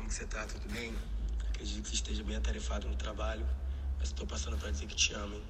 que você tá? Tudo bem? Acredito que você esteja bem atarefado no trabalho, mas tô passando pra dizer que te amo, hein?